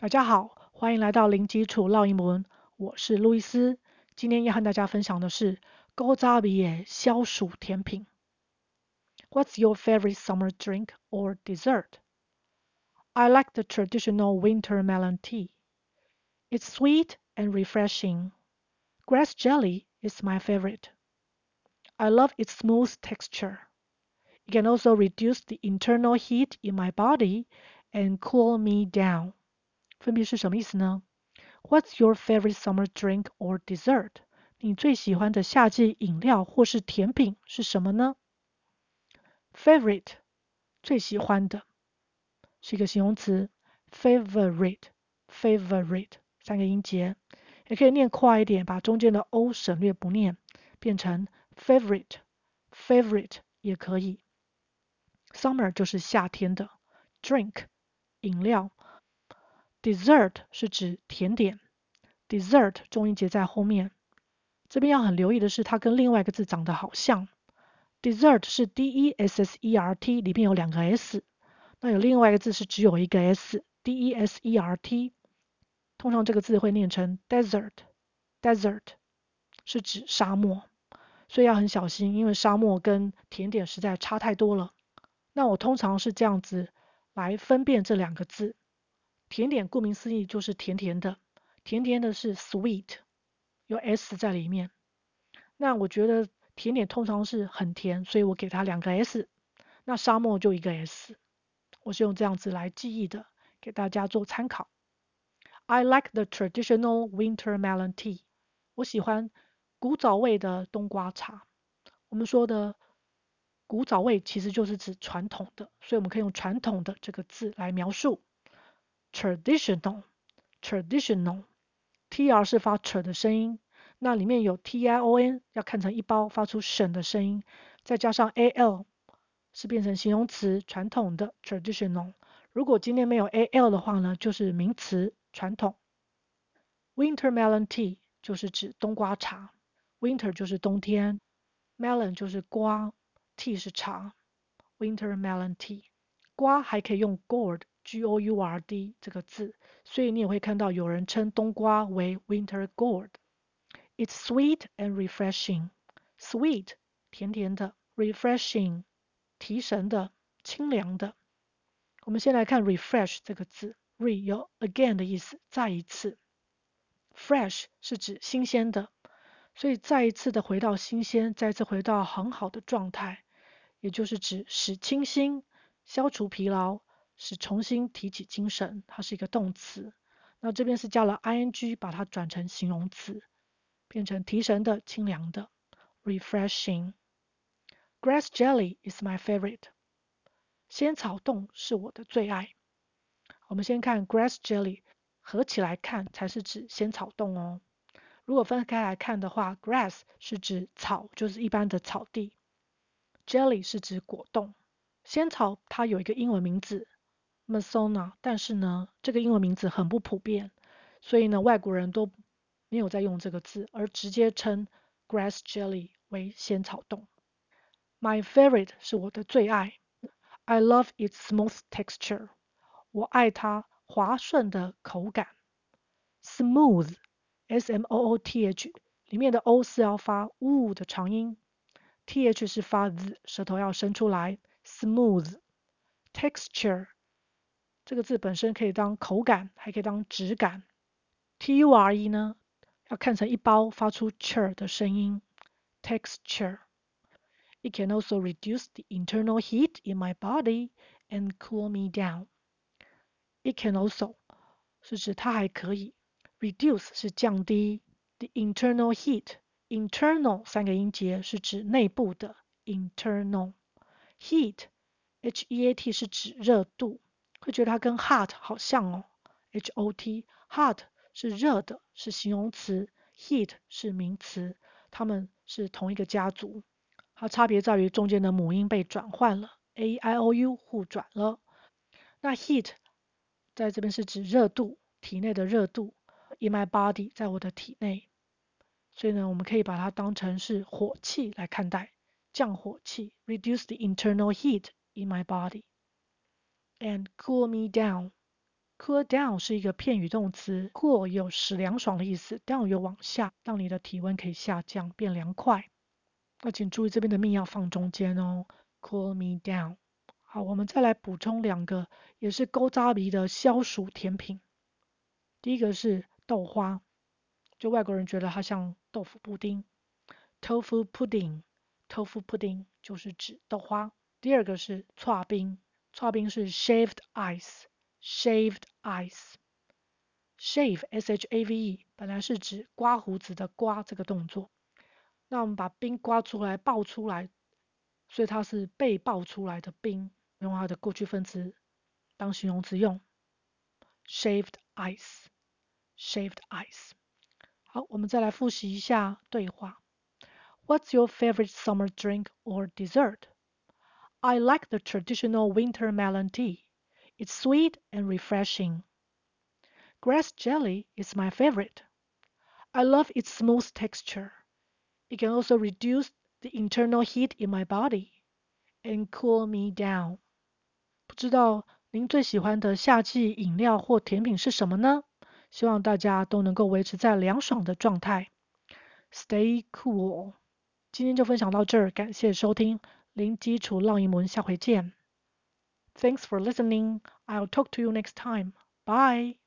大家好，歡迎來到零基礎烙英文，我是路易斯。今天要和大家分享的是古早味的消暑甜品。What's your favorite summer drink or dessert? I like the traditional winter melon tea. It's sweet and refreshing. Grass jelly is my favorite. I love its smooth texture. It can also reduce the internal heat in my body and cool me down. 分別是什麼意思呢？What's your favorite summer drink or dessert? 你最喜歡的夏季飲料或是甜品是什麼呢？ Favorite 最喜歡的是一個形容詞 favorite 三個音節，也可以念快一點，把中間的 o 省略不念，變成 favorite 也可以。Summer 就是夏天的 drink 飲料， dessert 是指甜點，dessert 重音節在後面。這邊要很留意的是，它跟另外一個字長得好像。dessert 是 D-E-S-S-E-R-T， 裡面有兩個 S， 那有另外一個字是只有一個 S，D-E-S-E-R-T。通常這個字會念成 desert 是指沙漠，所以要很小心，因為沙漠跟甜點實在差太多了。那我通常是這樣子來分辨這兩個字。甜點顧名思義就是甜甜的，甜甜的是 sweet， 有 S 在裡面。那我覺得甜點通常是很甜，所以我給它兩個 S， 那沙漠就一個 S， 我是用這樣子來記憶的，給大家做參考。I like the traditional winter melon tea。我喜歡古早味的冬瓜茶。我們說的古早味其實就是指傳統的，所以我們可以用傳統的這個字來描述。traditional TR 是發 ch 的聲音，那裡面有 TION 要看成一包，發出省的聲音，再加上 AL 是變成形容詞傳統的 traditional。如果今天沒有 AL 的話呢，就是名詞傳統。Winter melon tea 就是指冬瓜茶， Winter 就是冬天， melon 就是瓜， tea 是茶， Winter melon tea。 瓜還可以用 gourd，G-O-U-R-D 這個字，所以你也會看到有人稱冬瓜為 winter gourd。 It's sweet and refreshing。 Sweet 甜甜的， refreshing 提神的，清涼的。我們先來看 refresh 這個字， re 有 again 的意思，再一次。Fresh 是指新鮮的，所以再一次的回到新鮮，再次回到很好的狀態，也就是指使清新，消除疲勞，使重新提起精神，它是一個動詞。那這邊是加了 ing， 把它轉成形容詞，變成提神的、清涼的 refreshing。 Grass jelly is my favorite。 仙草凍是我的最愛。我們先看 grass jelly， 合起來看才是指仙草凍哦。如果分開來看的話， grass 是指草，就是一般的草地， jelly 是指果凍。仙草它有一個英文名字 Masona， 但是呢，這個英文名字很不普遍，所以呢，外國人都沒有在用這個字，而直接稱 grass jelly 為仙草凍。My favorite 是我的最愛。I love its smooth texture。 我愛它滑順的口感。Smooth S-M-O-O-T-H 裡面的 O 是要發 U 的長音， TH 是發 Z， 舌頭要伸出來。Smooth Texture 這個字本身可以當口感，還可以當質感。T-U-R-E 呢，要看成一包，發出 ch 的聲音。Texture It can also reduce the internal heat in my body and cool me down. It can also 是指它還可以， reduce 是降低， the internal heat internal 三個音節是指內部的 internal heat H-E-A-T 是指熱度，會覺得它跟 hot 好像哦 H-O-T hot 是熱的，是形容詞， heat 是名詞，它們是同一個家族。它差別在於中間的母音被轉換了 A-I-O-U 互轉了。那 heat 在這邊是指熱度，體內的熱度 in my body 在我的體內，所以呢，我們可以把它當成是火氣來看待，降火氣 reduce the internal heat in my body and cool me down Cool down 是一個片語動詞 ，cool 有使涼爽的意思 ，down 有往下，讓你的體溫可以下降，變涼快。那請注意這邊的 me 要放中間哦 ，cool me down。好，我們再來補充2個，也是古早味的消暑甜品。第一個是豆花，就外國人覺得它像豆腐布丁 ，tofu pudding。tofu pudding 就是指豆花。第二個是剉冰，剉冰是 shaved ice。shaved ice。shave shave 本來是指刮鬍子的刮這個動作，那我們把冰刮出來爆出來，所以它是被爆出來的冰，用它的过去分詞當形容詞用 shaved ice。shaved ice。好，我們再來複習一下對話。What's your favorite summer drink or dessert? I like the traditional winter melon tea. It's sweet and refreshing. Grass jelly is my favorite. I love its smooth texture. It can also reduce the internal heat in my body and cool me down. 不知道您最喜歡的夏季飲料或甜品是什麼呢？希望大家都能夠維持在涼爽的狀態。Stay cool。今天就分享到這兒，感謝收聽零基礎浪英文，下回見。Thanks for listening. I'll talk to you next time. Bye.